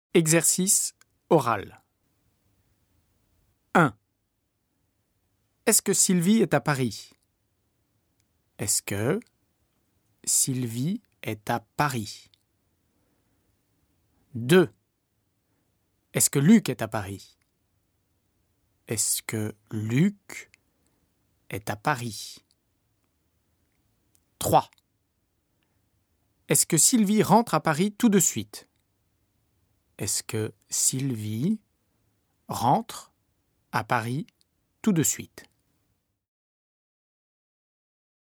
Exercice oral. 1. Est-ce que Sylvie est à Paris? Est-ce que Sylvie est à Paris? 2. Est-ce que Luc est à Paris? Est-ce que Luc est à Paris? 3. Est-ce que Sylvie rentre à Paris tout de suite? Est-ce que Sylvie rentre à Paris tout de suite?